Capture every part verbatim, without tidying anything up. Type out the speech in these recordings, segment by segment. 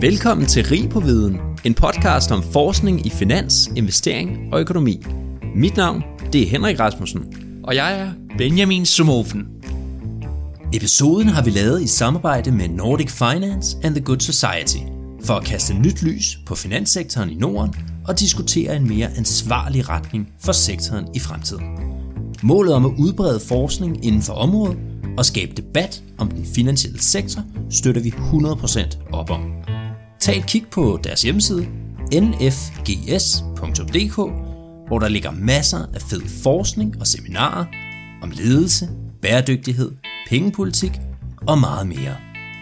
Velkommen til Rig på Viden, en podcast om forskning i finans, investering og økonomi. Mit navn, det er Henrik Rasmussen. Og jeg er Benjamin Sumofen. Episoden har vi lavet i samarbejde med Nordic Finance and the Good Society, for at kaste nyt lys på finanssektoren i Norden og diskutere en mere ansvarlig retning for sektoren i fremtiden. Målet om at udbrede forskning inden for området og skabe debat om den finansielle sektor støtter vi hundrede procent op om. Tag et kig på deres hjemmeside n f g s punktum d k, hvor der ligger masser af fed forskning og seminarer om ledelse, bæredygtighed, pengepolitik og meget mere.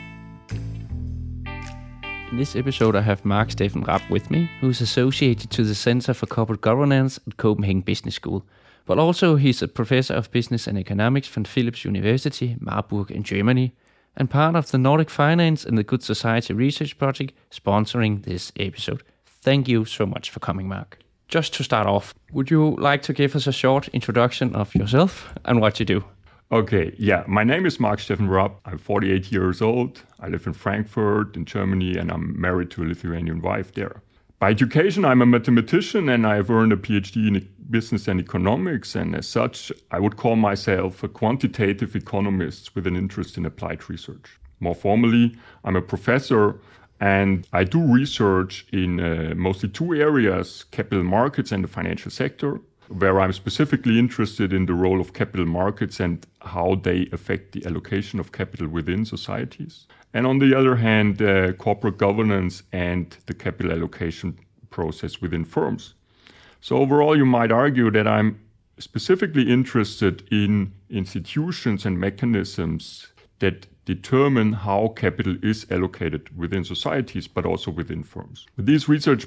In this episode, I have Mark Steffen Rapp with me, who is associated to the Center for Corporate Governance at Copenhagen Business School, but also he's a professor of business and economics from Philips University, Marburg in Germany, and part of the Nordic Finance and the Good Society research project sponsoring this episode. Thank you so much for coming, Mark. Just to start off, would you like to give us a short introduction of yourself and what you do? Okay, yeah, my name is Mark Steffen Rapp. I'm forty-eight years old. I live in Frankfurt in Germany, and I'm married to a Lithuanian wife there. By education, I'm a mathematician, and I've earned a P H D in business and economics, and as such, I would call myself a quantitative economist with an interest in applied research. More formally, I'm a professor, and I do research in uh, mostly two areas, capital markets and the financial sector, where I'm specifically interested in the role of capital markets and how they affect the allocation of capital within societies. And on the other hand, uh, corporate governance and the capital allocation process within firms. So overall, you might argue that I'm specifically interested in institutions and mechanisms that determine how capital is allocated within societies, but also within firms. With these research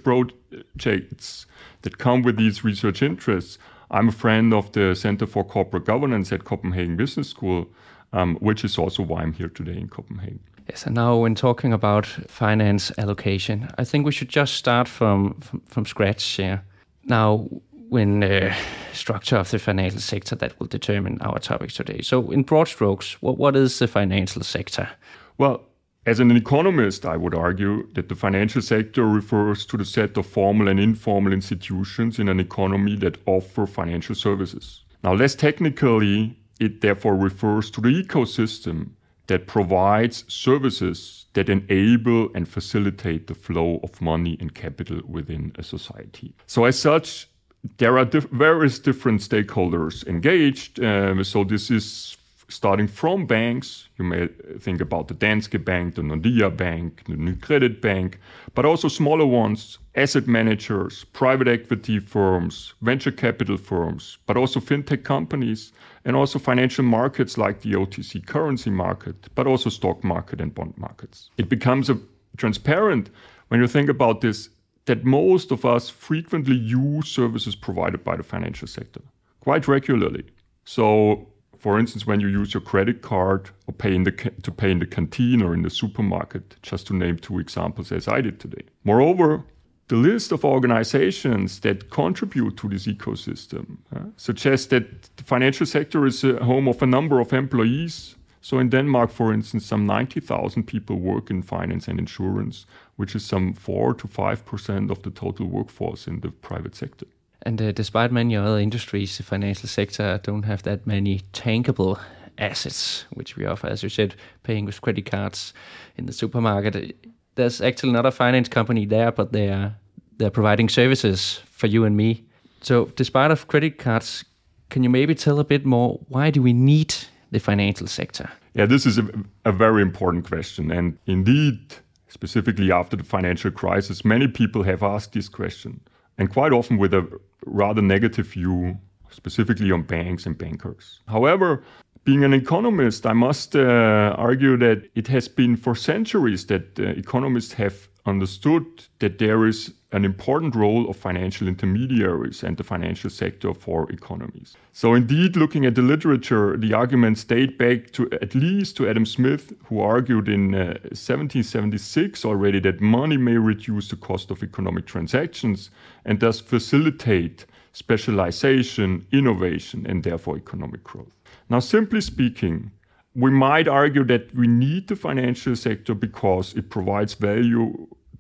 projects that come with these research interests, I'm a friend of the Center for Corporate Governance at Copenhagen Business School, um, which is also why I'm here today in Copenhagen. Yes, and now when talking about finance allocation, I think we should just start from, from, from scratch here. Now, when uh, structure of the financial sector that will determine our topics today. So in broad strokes, what, what is the financial sector? Well, as an economist, I would argue that the financial sector refers to the set of formal and informal institutions in an economy that offer financial services. Now, less technically, it therefore refers to the ecosystem that provides services that enable and facilitate the flow of money and capital within a society. So as such, there are diff- various different stakeholders engaged. Um, so this is starting from banks. You may think about the Danske Bank, the Nordea Bank, the Nykredit Bank, but also smaller ones, asset managers, private equity firms, venture capital firms, but also fintech companies, and also financial markets like the O T C currency market, but also stock market and bond markets. It becomes a transparent when you think about this that most of us frequently use services provided by the financial sector quite regularly. So, for instance, when you use your credit card or pay in the ca- to pay in the canteen or in the supermarket, just to name two examples as I did today. Moreover, the list of organizations that contribute to this ecosystem uh, suggests that the financial sector is a home of a number of employees. So in Denmark, for instance, some ninety thousand people work in finance and insurance, which is some four to five percent of the total workforce in the private sector. And uh, despite many other industries, the financial sector don't have that many tangible assets, which we offer, as you said, paying with credit cards in the supermarket. There's actually not a finance company there, but they are they're providing services for you and me. So despite of credit cards, can you maybe tell a bit more, why do we need the financial sector? Yeah, this is a, a very important question. And indeed, specifically after the financial crisis, many people have asked this question, and quite often with a rather negative view, specifically on banks and bankers. However, being an economist, I must uh, argue that it has been for centuries that uh, economists have understood that there is an important role of financial intermediaries and the financial sector for economies. So indeed, looking at the literature, the arguments date back to at least to Adam Smith, who argued in uh, seventeen seventy-six already that money may reduce the cost of economic transactions and thus facilitate specialization, innovation, and therefore economic growth. Now, simply speaking, we might argue that we need the financial sector because it provides value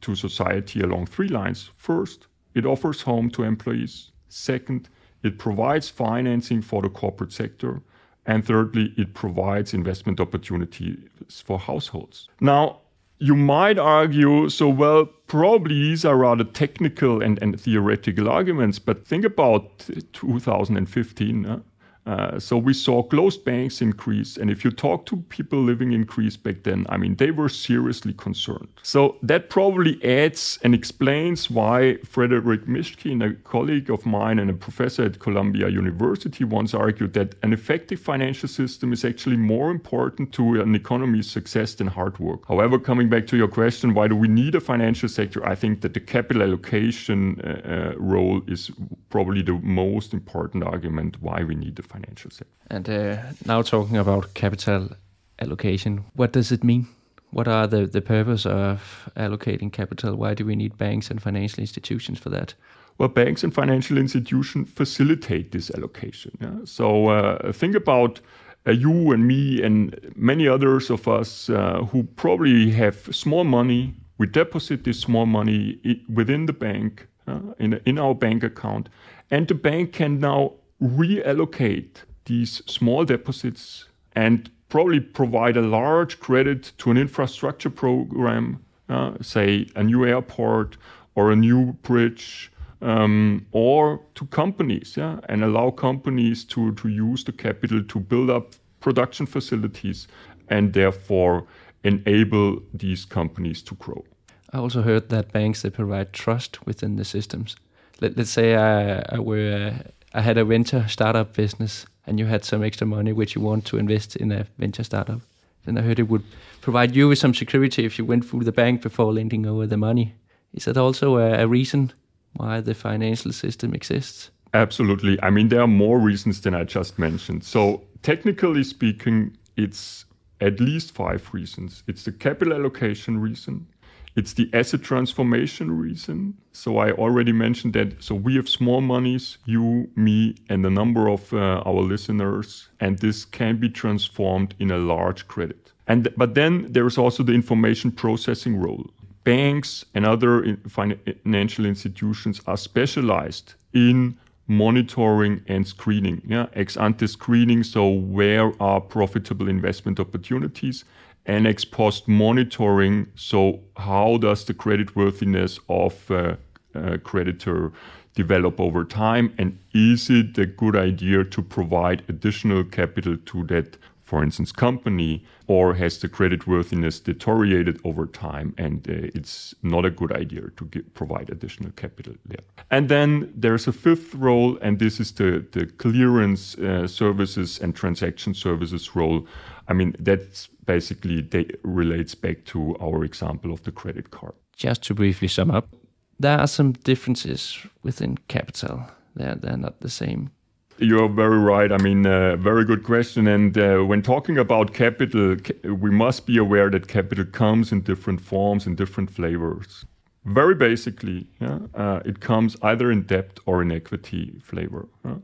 to society along three lines. First, it offers home to employees. Second, it provides financing for the corporate sector. And thirdly, it provides investment opportunities for households. Now, you might argue, so well, probably these are rather technical and, and theoretical arguments, but think about two thousand fifteen. Uh, uh, so we saw closed banks increase, and if you talk to people living in Greece back then, I mean, they were seriously concerned. So that probably adds and explains why Frederick Mishkin, a colleague of mine and a professor at Columbia University, once argued that an effective financial system is actually more important to an economy's success than hard work. However, coming back to your question, why do we need a financial sector? I think that the capital allocation uh, uh, role is probably the most important argument why we need the financial sector. And uh, now talking about capital allocation, what does it mean? What are the, the purpose of allocating capital? Why do we need banks and financial institutions for that? Well, banks and financial institutions facilitate this allocation. Yeah? So uh, think about uh, you and me and many others of us uh, who probably have small money. We deposit this small money I- within the bank, uh, in, in our bank account, and the bank can now reallocate these small deposits and probably provide a large credit to an infrastructure program, uh, say a new airport or a new bridge, um, or to companies, yeah, and allow companies to, to use the capital to build up production facilities and therefore enable these companies to grow. I also heard that banks, they provide trust within the systems. Let, let's say I, I were uh, I had a venture startup business and you had some extra money which you want to invest in a venture startup. Then I heard it would provide you with some security if you went through the bank before lending over the money. Is that also a, a reason why the financial system exists? Absolutely. I mean, there are more reasons than I just mentioned. So technically speaking, it's at least five reasons. It's the capital allocation reason. It's the asset transformation reason. So I already mentioned that. So we have small monies, you, me, and a number of uh, our listeners, and this can be transformed in a large credit. And but then there's also the information processing role. Banks and other financial institutions are specialized in monitoring and screening, yeah, ex ante screening. So where are profitable investment opportunities? And ex post monitoring, so how does the creditworthiness of a, a creditor develop over time? And is it a good idea to provide additional capital to that, for instance, company? Or has the creditworthiness deteriorated over time and uh, it's not a good idea to give, provide additional capital there? And then there's a fifth role, and this is the, the clearance uh, services and transaction services role. I mean, that's basically they relates back to our example of the credit card. Just to briefly sum up, there are some differences within capital. They're, they're not the same. You're very right. I mean, uh, very good question. And uh, when talking about capital, ca- we must be aware that capital comes in different forms and different flavors. Very basically, yeah, uh, it comes either in debt or in equity flavor. Yeah?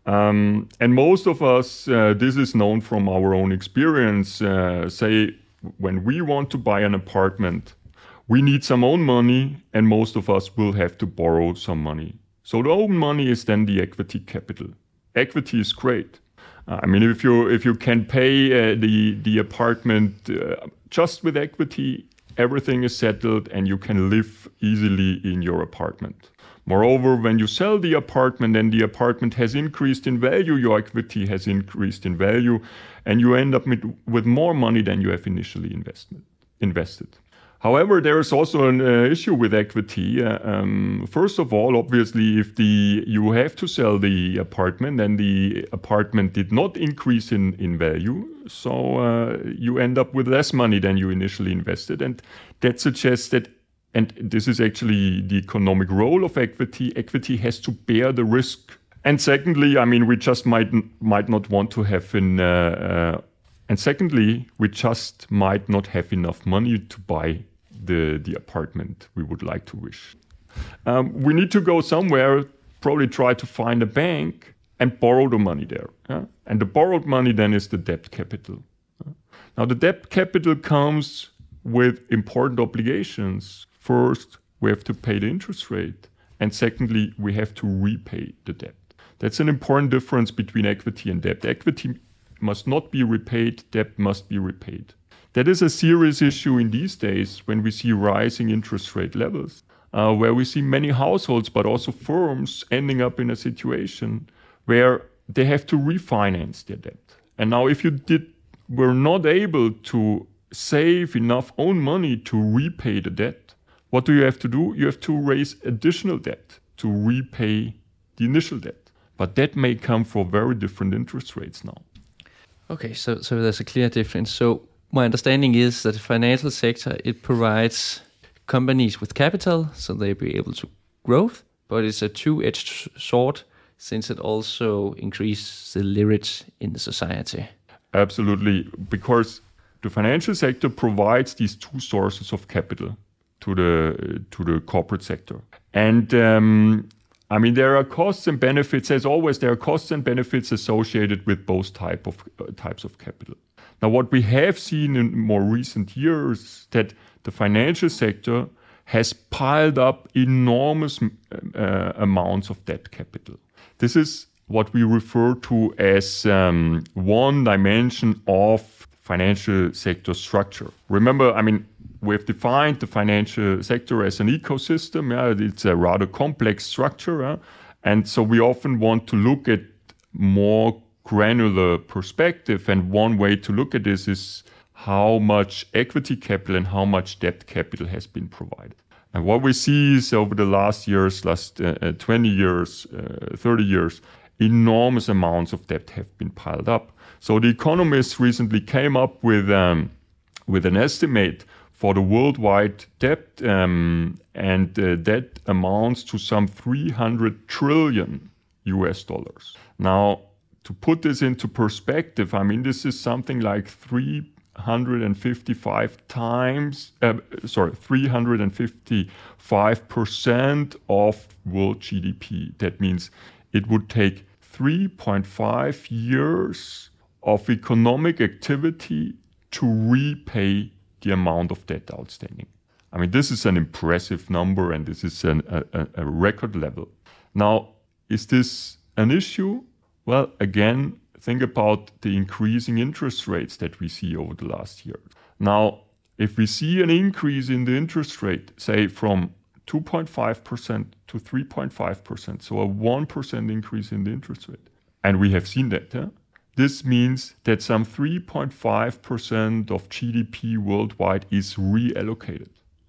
Um, and most of us, uh, this is known from our own experience, uh, say when we want to buy an apartment, we need some own money and most of us will have to borrow some money. So the own money is then the equity capital. Equity is great. Uh, I mean, if you if you can pay uh, the, the apartment uh, just with equity, everything is settled and you can live easily in your apartment. Moreover, when you sell the apartment and the apartment has increased in value, your equity has increased in value, and you end up with, with more money than you have initially invested. invested. However, there is also an uh, issue with equity. Uh, um, first of all, obviously, if the you have to sell the apartment and the apartment did not increase in, in value, so uh, you end up with less money than you initially invested. And that suggests that, and this is actually the economic role of equity, equity has to bear the risk. And secondly, I mean, we just might, might not want to have an... Uh, uh, and secondly, we just might not have enough money to buy the, the apartment we would like to wish. Um, we need to go somewhere, probably try to find a bank and borrow the money there. Yeah? And the borrowed money then is the debt capital. Now the debt capital comes with important obligations. First, we have to pay the interest rate. And secondly, we have to repay the debt. That's an important difference between equity and debt. Equity must not be repaid, debt must be repaid. That is a serious issue in these days when we see rising interest rate levels, uh, where we see many households, but also firms ending up in a situation where they have to refinance their debt. And now if you did were not able to save enough own money to repay the debt, what do you have to do? You have to raise additional debt to repay the initial debt. But that may come for very different interest rates now. Okay, so so there's a clear difference. So my understanding is that the financial sector, it provides companies with capital, so they'll be able to growth, but it's a two-edged sword since it also increases the leverage in the society. Absolutely, because the financial sector provides these two sources of capital to the to the corporate sector. And um, I mean, there are costs and benefits. As always, there are costs and benefits associated with both type of uh, types of capital. Now, what we have seen in more recent years that the financial sector has piled up enormous uh, amounts of debt capital. This is what we refer to as um, one dimension of financial sector structure. Remember, I mean, we've defined the financial sector as an ecosystem. Yeah, it's a rather complex structure. Yeah? And so we often want to look at more granular perspective. And one way to look at this is how much equity capital and how much debt capital has been provided. And what we see is over the last years, last uh, twenty years, uh, thirty years, enormous amounts of debt have been piled up. So the Economist recently came up with um, with an estimate for the worldwide debt, um, and uh, that amounts to some three hundred trillion U S dollars. Now, to put this into perspective, I mean, this is something like three hundred fifty-five times, uh, sorry, three hundred fifty-five percent of world G D P. That means it would take three point five years of economic activity to repay the amount of debt outstanding. I mean, this is an impressive number, and this is an, a, a record level. Now, is this an issue? Well, again, think about the increasing interest rates that we see over the last year. Now, if we see an increase in the interest rate, say from two point five percent to three point five percent, so a one percent increase in the interest rate, and we have seen that, huh? This means that some three point five percent of G D P worldwide is reallocated.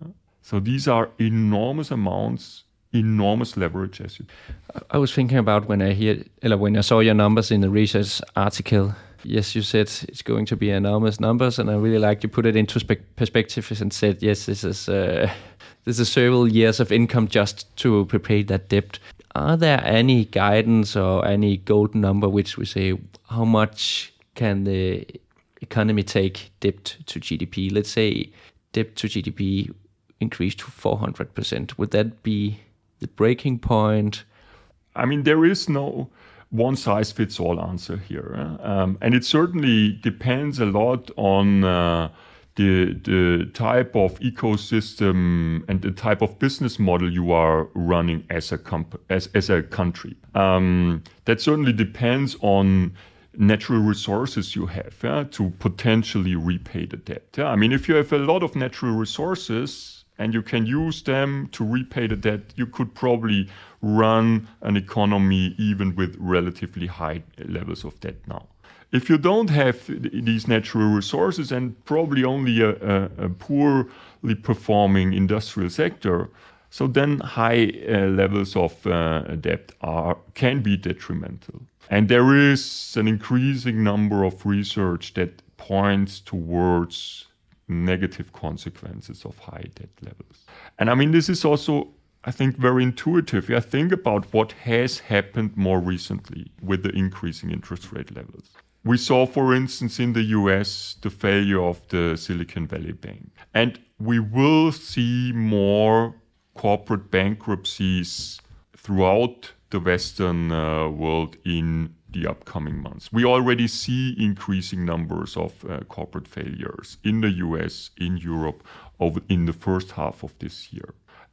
So these are enormous amounts, enormous leverage. As you. I was thinking about when I hear, or when I saw your numbers in the research article. Yes, you said it's going to be enormous numbers, and I really like you put it into spe- perspective and said, yes, this is uh, this is several years of income just to prepay that debt. Are there any guidance or any golden number which we say how much can the economy take debt to G D P? Let's say debt to G D P increase to four hundred percent. Would that be the breaking point? I mean, there is no one-size-fits-all answer here. Um, and it certainly depends a lot on uh, the, the type of ecosystem and the type of business model you are running as a, comp- as, as a country. Um, that certainly depends on natural resources you have yeah, to potentially repay the debt. Yeah? I mean, if you have a lot of natural resources and you can use them to repay the debt, you could probably run an economy even with relatively high levels of debt now. If you don't have these natural resources and probably only a, a, a poorly performing industrial sector, so then high uh, levels of uh, debt are can be detrimental. And there is an increasing number of research that points towards negative consequences of high debt levels. And I mean, this is also, I think, very intuitive. Yeah, think about what has happened more recently with the increasing interest rate levels. We saw, for instance, in the U S, the failure of the Silicon Valley Bank. And we will see more corporate bankruptcies throughout the Western uh, world in the upcoming months. We already see increasing numbers of uh, corporate failures in the U S, in Europe, over in the first half of this year.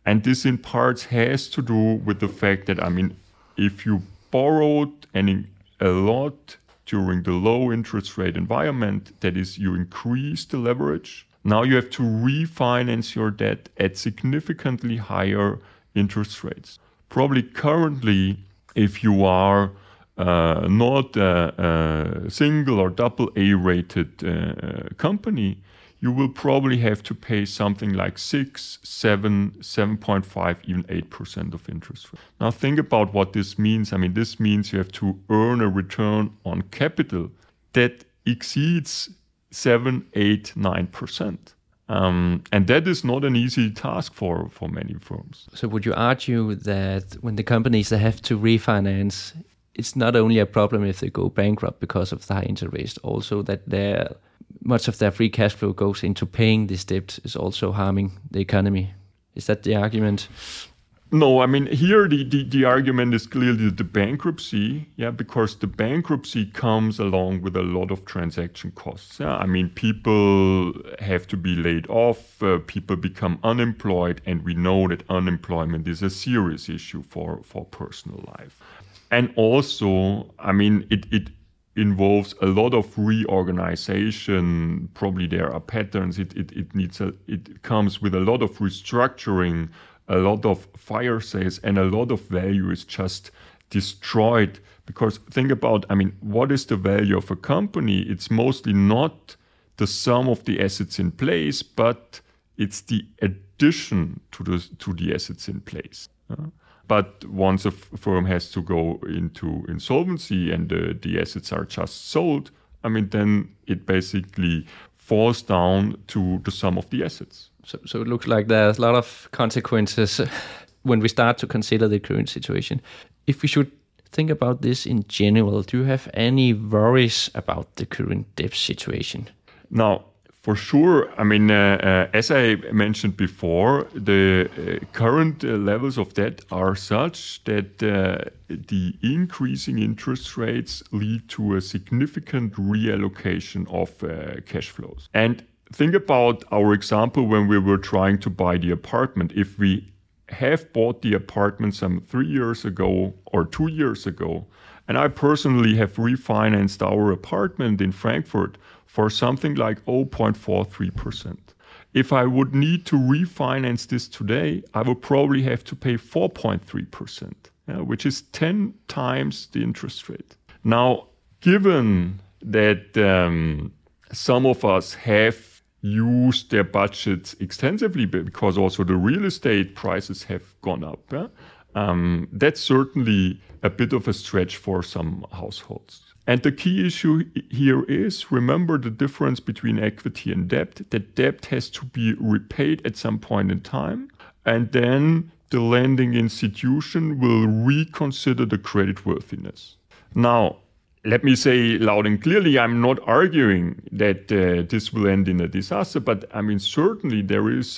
And this in parts has to do with the fact that, I mean, if you borrowed any, a lot during the low interest rate environment, that is, you increase the leverage, now you have to refinance your debt at significantly higher interest rates. Probably currently, if you are uh, not a, a single or double A rated uh, company, you will probably have to pay something like six, seven, seven point five, even eight percent of interest rate. Now think about what this means. I mean, this means you have to earn a return on capital that exceeds seven, eight, nine percent. Um, and that is not an easy task for, for many firms. So would you argue that when the companies that have to refinance, it's not only a problem if they go bankrupt because of the high interest rates, also that their much of their free cash flow goes into paying this debt is also harming the economy? Is that the argument? No, I mean, here the, the, the argument is clearly the bankruptcy, yeah, because the bankruptcy comes along with a lot of transaction costs. Yeah? I mean, people have to be laid off, uh, people become unemployed, and we know that unemployment is a serious issue for, for personal life. And also, I mean, it, it involves a lot of reorganization. Probably there are patterns. It, it, it needs a, it comes with a lot of restructuring, a lot of fire sales, and a lot of value is just destroyed. Because think about, I mean, what is the value of a company? It's mostly not the sum of the assets in place, but it's the addition to the to the assets in place. Uh, but once a f- firm has to go into insolvency and uh, the assets are just sold, I mean, then it basically falls down to the sum of the assets. So, so it looks like there's a lot of consequences when we start to consider the current situation. If we should think about this in general, do you have any worries about the current debt situation? Now, for sure, I mean, uh, uh, as I mentioned before, the uh, current uh, levels of debt are such that uh, the increasing interest rates lead to a significant reallocation of uh, cash flows. And think about our example when we were trying to buy the apartment. If we have bought the apartment some three years ago or two years ago, and I personally have refinanced our apartment in Frankfurt for something like zero point four three percent. If I would need to refinance this today, I would probably have to pay four point three percent, yeah, which is ten times the interest rate. Now, given that um, some of us have used their budgets extensively because also the real estate prices have gone up, yeah? um, that's certainly a bit of a stretch for some households. And the key issue here is, remember the difference between equity and debt, that debt has to be repaid at some point in time, and then the lending institution will reconsider the creditworthiness. Now, let me say loud and clearly, I'm not arguing that uh, this will end in a disaster, but I mean, certainly there is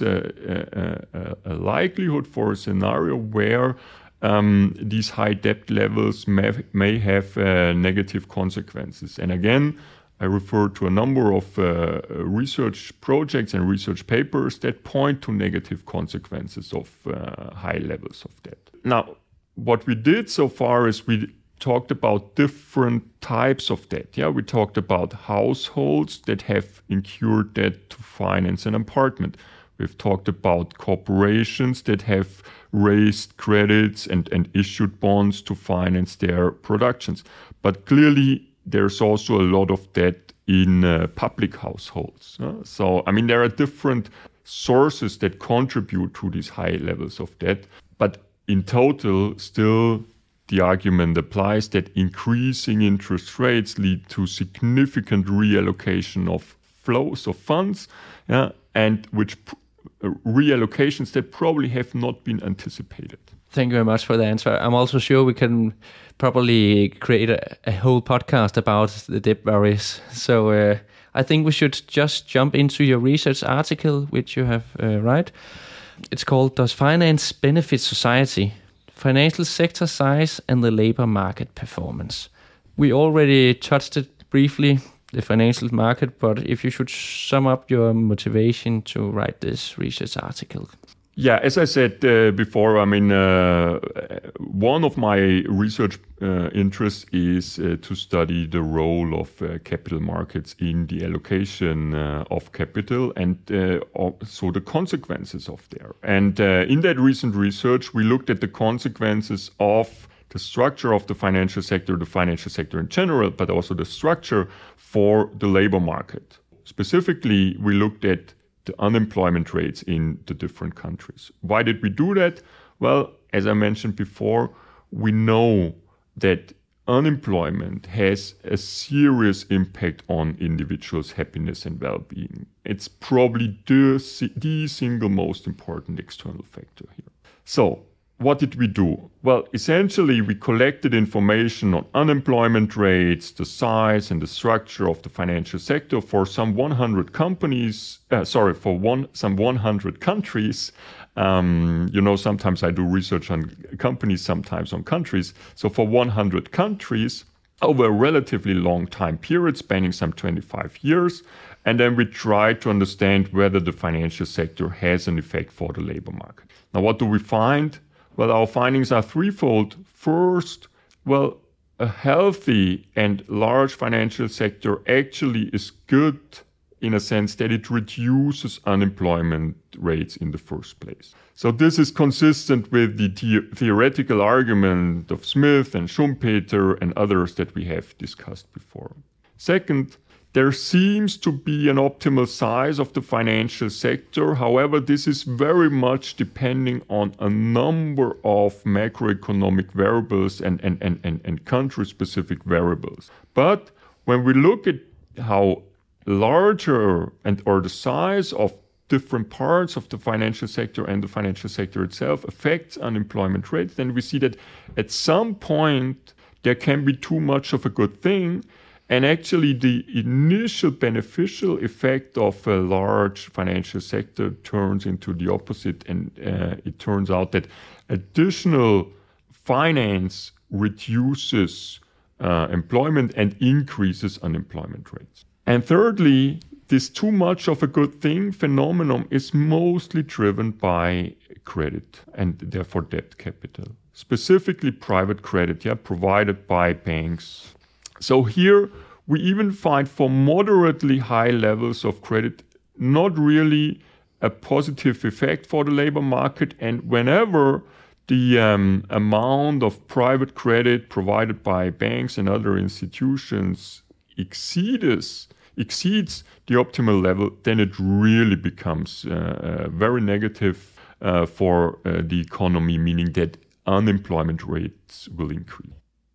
a, a, a likelihood for a scenario where um, these high debt levels may, may have uh, negative consequences. And again, I refer to a number of uh, research projects and research papers that point to negative consequences of uh, high levels of debt. Now, what we did so far is we talked about different types of debt. Yeah, we talked about households that have incurred debt to finance an apartment. We've talked about corporations that have raised credits and, and issued bonds to finance their productions. But clearly, there's also a lot of debt in uh, public households. Uh, so, I mean, there are different sources that contribute to these high levels of debt. But in total, still, the argument applies that increasing interest rates lead to significant reallocation of flows of funds, yeah, and which pr- uh, reallocations that probably have not been anticipated. Thank you very much for the answer. I'm also sure we can probably create a, a whole podcast about the debt worries. So uh, I think we should just jump into your research article, which you have uh, right. It's called "Does Finance Benefit Society? Financial Sector Size and the Labor Market Performance." We already touched it briefly, the financial market, but if you should sum up your motivation to write this research article. Yeah, as I said uh, before, I mean, uh, one of my research uh, interests is uh, to study the role of uh, capital markets in the allocation uh, of capital and uh, also the consequences of there. And uh, in that recent research, we looked at the consequences of the structure of the financial sector, the financial sector in general, but also the structure for the labor market. Specifically, we looked at the unemployment rates in the different countries. Why did we do that? Well, as I mentioned before, we know that unemployment has a serious impact on individuals' happiness and well-being. It's probably the, the single most important external factor here. So, what did we do? Well, essentially, we collected information on unemployment rates, the size and the structure of the financial sector for some one hundred companies, uh, sorry, for one some one hundred countries. Um, you know, sometimes I do research on companies, sometimes on countries. So for one hundred countries, over a relatively long time period, spanning some twenty-five years. And then we try to understand whether the financial sector has an effect for the labor market. Now, what do we find? Well, our findings are threefold. First, well, a healthy and large financial sector actually is good in a sense that it reduces unemployment rates in the first place. So this is consistent with the the- theoretical argument of Smith and Schumpeter and others that we have discussed before. Second, there seems to be an optimal size of the financial sector. However, this is very much depending on a number of macroeconomic variables and, and, and, and, and country-specific variables. But when we look at how larger and or the size of different parts of the financial sector and the financial sector itself affects unemployment rates, then we see that at some point there can be too much of a good thing. And actually, the initial beneficial effect of a large financial sector turns into the opposite. And uh, it turns out that additional finance reduces uh, employment and increases unemployment rates. And thirdly, this too much of a good thing phenomenon is mostly driven by credit and therefore debt capital, specifically private credit, yeah, provided by banks. So here we even find for moderately high levels of credit not really a positive effect for the labor market. And whenever the um, amount of private credit provided by banks and other institutions exceeds, exceeds the optimal level, then it really becomes uh, very negative uh, for uh, the economy, meaning that unemployment rates will increase.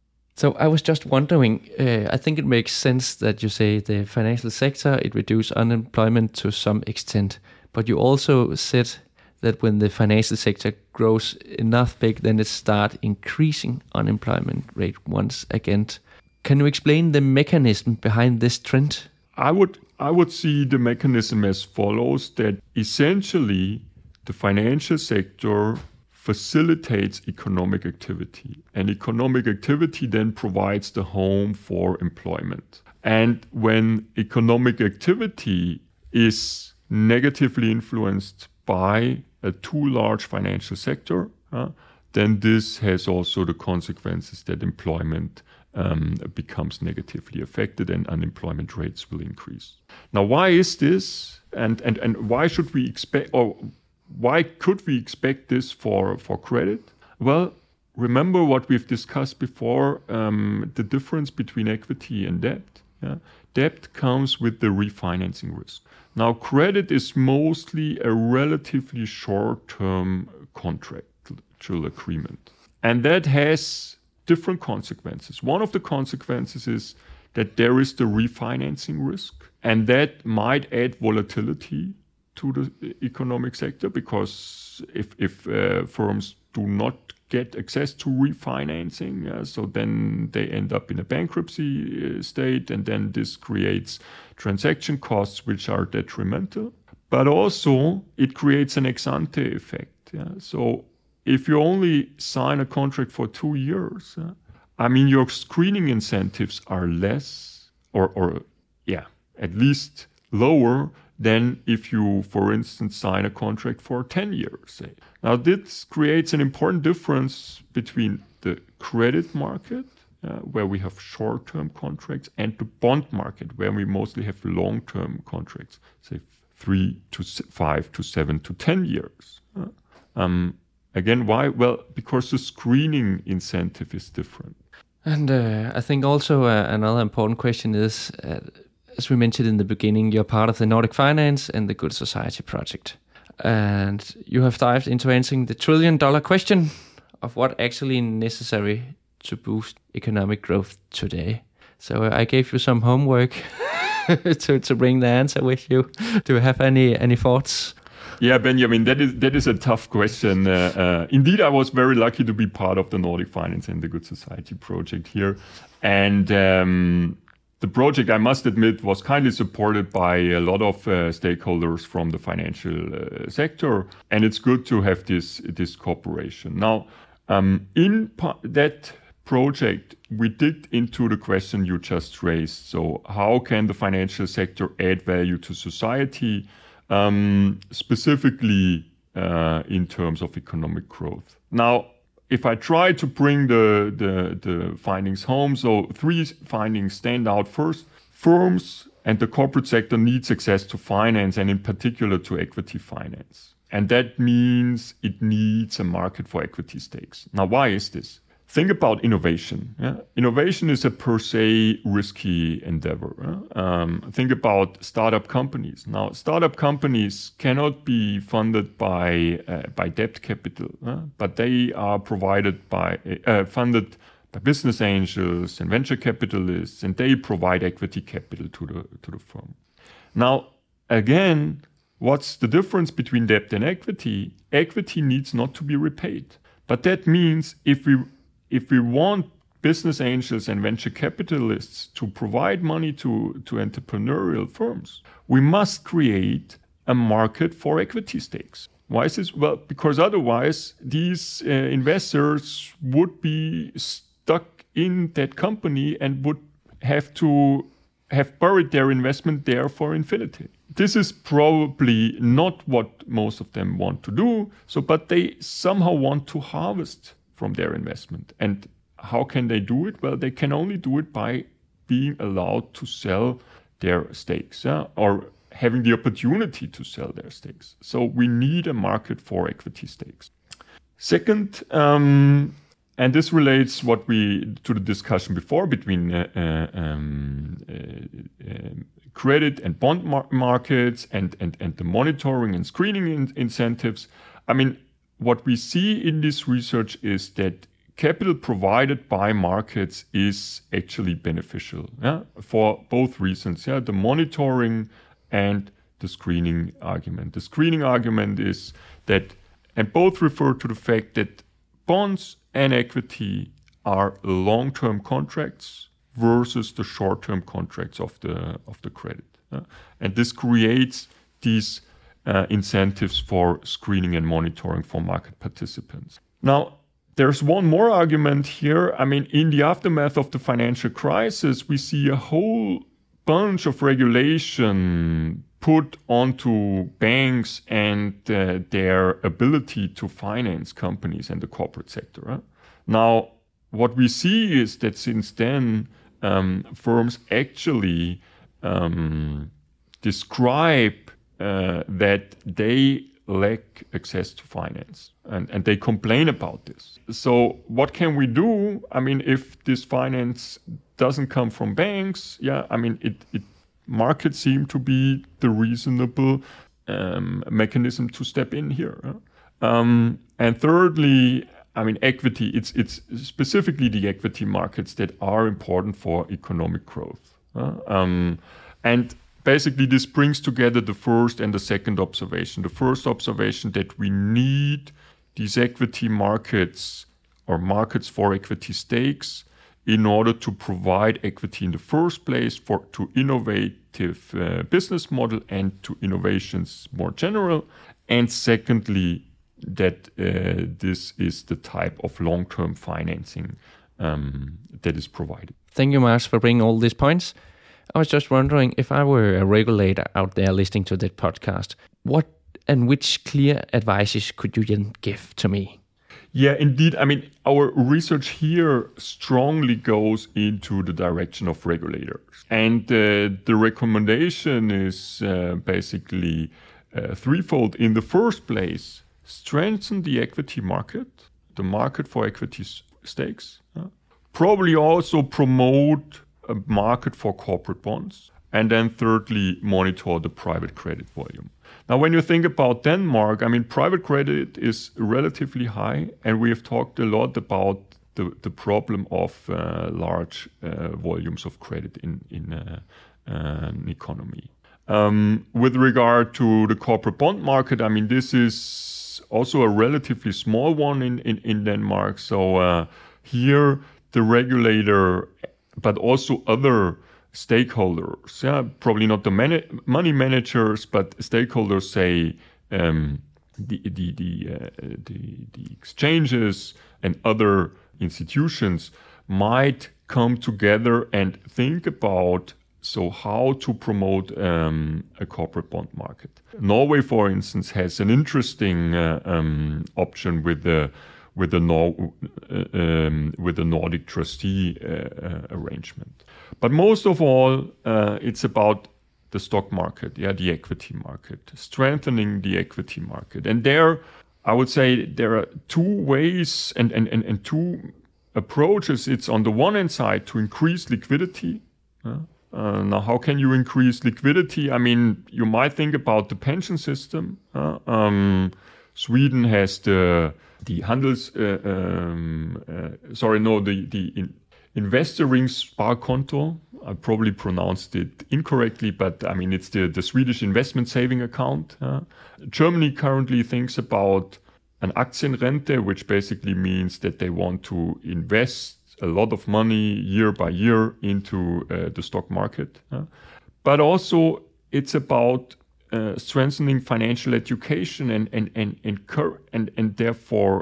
So I was just wondering, uh, I think it makes sense that you say the financial sector, it reduces unemployment to some extent. But you also said that when the financial sector grows enough big, then it starts increasing unemployment rate once again. Can you explain the mechanism behind this trend? I would I would see the mechanism as follows, that essentially the financial sector facilitates economic activity. And economic activity then provides the home for employment. And when economic activity is negatively influenced by a too large financial sector, uh, then this has also the consequences that employment um, becomes negatively affected and unemployment rates will increase. Now, why is this? And, and, and why should we expect, or why could we expect this for, for credit? Well, remember what we've discussed before, um, the difference between equity and debt. Yeah? Debt comes with the refinancing risk. Now, credit is mostly a relatively short-term contractual agreement. And that has different consequences. One of the consequences is that there is the refinancing risk, and that might add volatility to the economic sector, because if, if uh, firms do not get access to refinancing, uh, so then they end up in a bankruptcy uh, state, and then this creates transaction costs which are detrimental. But also it creates an ex-ante effect. Yeah? So if you only sign a contract for two years, uh, I mean, your screening incentives are less, or, or yeah, at least lower than if you, for instance, sign a contract for ten years, say. Now, this creates an important difference between the credit market, uh, where we have short-term contracts, and the bond market, where we mostly have long-term contracts, say three to five to seven to ten years. Uh, um, again, why? Well, because the screening incentive is different. And uh, I think also uh, another important question is, uh, as we mentioned in the beginning, you're part of the Nordic Finance and the Good Society project. And you have dived into answering the trillion dollar question of what actually necessary to boost economic growth today. So uh, I gave you some homework to, to bring the answer with you. Do you have any, any thoughts? Yeah, Benjamin, that is that is a tough question. Uh, uh, indeed, I was very lucky to be part of the Nordic Finance and the Good Society project here. And um, the project, I must admit, was kindly supported by a lot of uh, stakeholders from the financial uh, sector. And it's good to have this, this cooperation. Now, um, in pa- that project, we digged into the question you just raised. So how can the financial sector add value to society? Um, specifically uh, in terms of economic growth. Now, if I try to bring the, the, the findings home, so three findings stand out. First, firms and the corporate sector needs access to finance, and in particular to equity finance. And that means it needs a market for equity stakes. Now, why is this? Think about innovation. Yeah? Innovation is a per se risky endeavor. Yeah? Um, think about startup companies. Now, startup companies cannot be funded by uh, by debt capital, yeah? but they are provided by uh, funded by business angels and venture capitalists, and they provide equity capital to the to the firm. Now, again, what's the difference between debt and equity? Equity needs not to be repaid, but that means if we If we want business angels and venture capitalists to provide money to, to entrepreneurial firms, we must create a market for equity stakes. Why is this? Well, because otherwise these uh, investors would be stuck in that company and would have to have buried their investment there for infinity. This is probably not what most of them want to do, so but they somehow want to harvest from their investment. And how can they do it? Well, they can only do it by being allowed to sell their stakes, uh, or having the opportunity to sell their stakes. So we need a market for equity stakes. Second, um, and this relates what we to the discussion before between uh, uh, um, uh, uh, credit and bond mar- markets and, and, and the monitoring and screening in- incentives. I mean, what we see in this research is that capital provided by markets is actually beneficial, yeah, for both reasons, yeah, the monitoring and the screening argument. The screening argument is that, and both refer to the fact that bonds and equity are long-term contracts versus the short-term contracts of the of the credit, yeah? And this creates these Uh, incentives for screening and monitoring for market participants. Now, there's one more argument here. I mean, in the aftermath of the financial crisis, we see a whole bunch of regulation put onto banks and uh, their ability to finance companies and the corporate sector. Huh? Now, what we see is that since then, um, firms actually um, describe Uh, that they lack access to finance, and, and they complain about this. So what can we do? I mean, if this finance doesn't come from banks, yeah, I mean, it, it markets seem to be the reasonable um, mechanism to step in here. Huh? Um, and thirdly, I mean, equity, it's, it's specifically the equity markets that are important for economic growth. Huh? Um, and Basically, this brings together the first and the second observation. The first observation that we need these equity markets or markets for equity stakes in order to provide equity in the first place for to innovative uh, business model and to innovations more general. And secondly, that uh, this is the type of long-term financing um, that is provided. Thank you, Mars, for bringing all these points. I was just wondering, if I were a regulator out there listening to that podcast, what and which clear advices could you then give to me? Yeah, indeed. I mean, our research here strongly goes into the direction of regulators. And uh, the recommendation is uh, basically uh, threefold. In the first place, strengthen the equity market, the market for equity stakes. Uh, probably also promote a market for corporate bonds. And then thirdly, monitor the private credit volume. Now, when you think about Denmark, I mean, private credit is relatively high, and we have talked a lot about the, the problem of uh, large uh, volumes of credit in, in uh, uh, an economy. Um, with regard to the corporate bond market, I mean, this is also a relatively small one in, in, in Denmark. So uh, here, the regulator, but also other stakeholders, yeah, probably not the man- money managers, but stakeholders say um, the the the, uh, the the exchanges and other institutions might come together and think about so how to promote um, a corporate bond market. Norway, for instance, has an interesting uh, um, option with the with the Nor- uh, um, with the Nordic trustee uh, uh, arrangement. But most of all, uh, it's about the stock market, yeah, the equity market, strengthening the equity market. And there, I would say there are two ways and, and, and, and two approaches. It's on the one hand side to increase liquidity. Uh, uh, now, how can you increase liquidity? I mean, you might think about the pension system. Uh, um, Sweden has the the Handels, uh, um, uh, sorry, no, the the in, Investeringssparkonto. I probably pronounced it incorrectly, but I mean, it's the, the Swedish investment saving account. Uh, Germany currently thinks about an Aktienrente, which basically means that they want to invest a lot of money year by year into uh, the stock market. Uh, but also, it's about uh, strengthening financial education and and and and, cur- and and therefore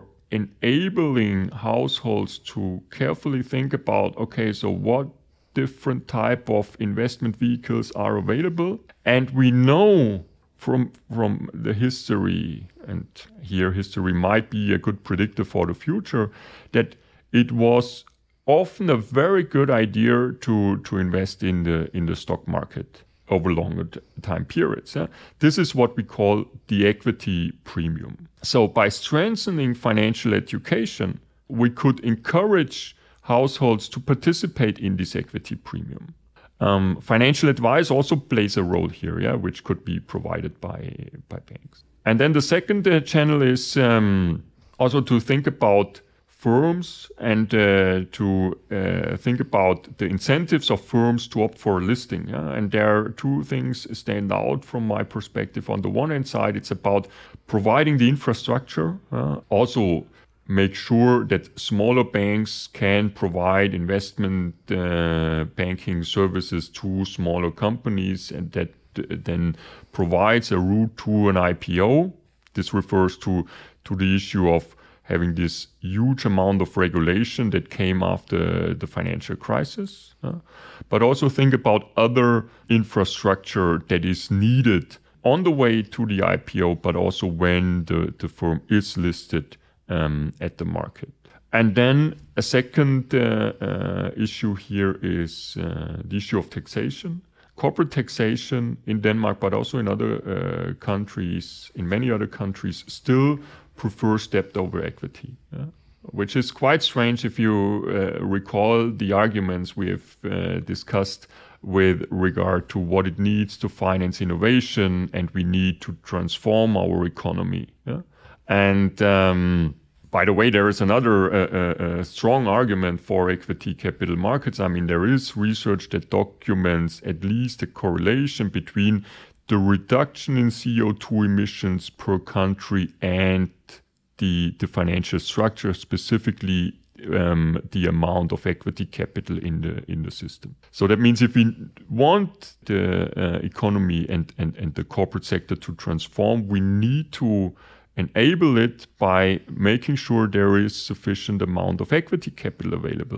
enabling households to carefully think about, okay, so what different type of investment vehicles are available. And we know from from the history, and here history might be a good predictor for the future, that it was often a very good idea to to invest in the in the stock market over longer time periods. Yeah? This is what we call the equity premium. So by strengthening financial education, we could encourage households to participate in this equity premium. Um, financial advice also plays a role here, yeah, which could be provided by, by banks. And then the second uh, channel is um, also to think about firms and uh, to uh, think about the incentives of firms to opt for a listing. Yeah? And there are two things stand out from my perspective. On the one hand side, it's about providing the infrastructure, uh, also make sure that smaller banks can provide investment uh, banking services to smaller companies, and that uh, then provides a route to an I P O. This refers to, to the issue of having this huge amount of regulation that came after the financial crisis. Uh, but also think about other infrastructure that is needed on the way to the I P O, but also when the, the firm is listed um, at the market. And then a second uh, uh, issue here is uh, the issue of taxation. Corporate taxation in Denmark, but also in other uh, countries, in many other countries, still prefers debt over equity, yeah? Which is quite strange if you uh, recall the arguments we have uh, discussed with regard to what it needs to finance innovation, and we need to transform our economy. Yeah? And um, by the way, there is another uh, uh, strong argument for equity capital markets. I mean, there is research that documents at least a correlation between the reduction in C O two emissions per country and the, the financial structure, specifically um, the amount of equity capital in the in the system. So that means if we want the uh, economy and, and, and the corporate sector to transform, we need to enable it by making sure there is sufficient amount of equity capital available.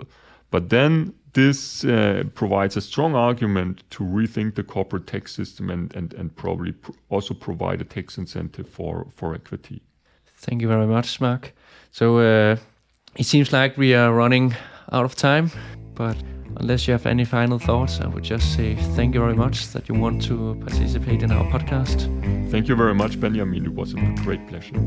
But then this uh, provides a strong argument to rethink the corporate tax system and, and, and probably pr- also provide a tax incentive for, for equity. Thank you very much, Mark. So uh, it seems like we are running out of time, but unless you have any final thoughts, I would just say thank you very much that you want to participate in our podcast. Thank you very much, Benjamin. It was a great pleasure.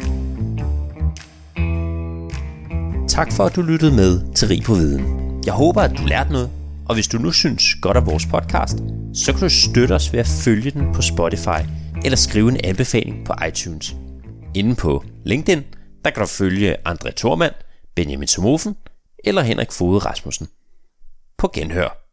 Tak for, at du lyttede med til Rig på Viden. Jeg håber, at du lærte noget, og hvis du nu synes godt af vores podcast, så kan du støtte os ved at følge den på Spotify eller skrive en anbefaling på iTunes. Inde på LinkedIn, der kan du følge André Thormand, Benjamin Somofen eller Henrik Foged Rasmussen. På genhør.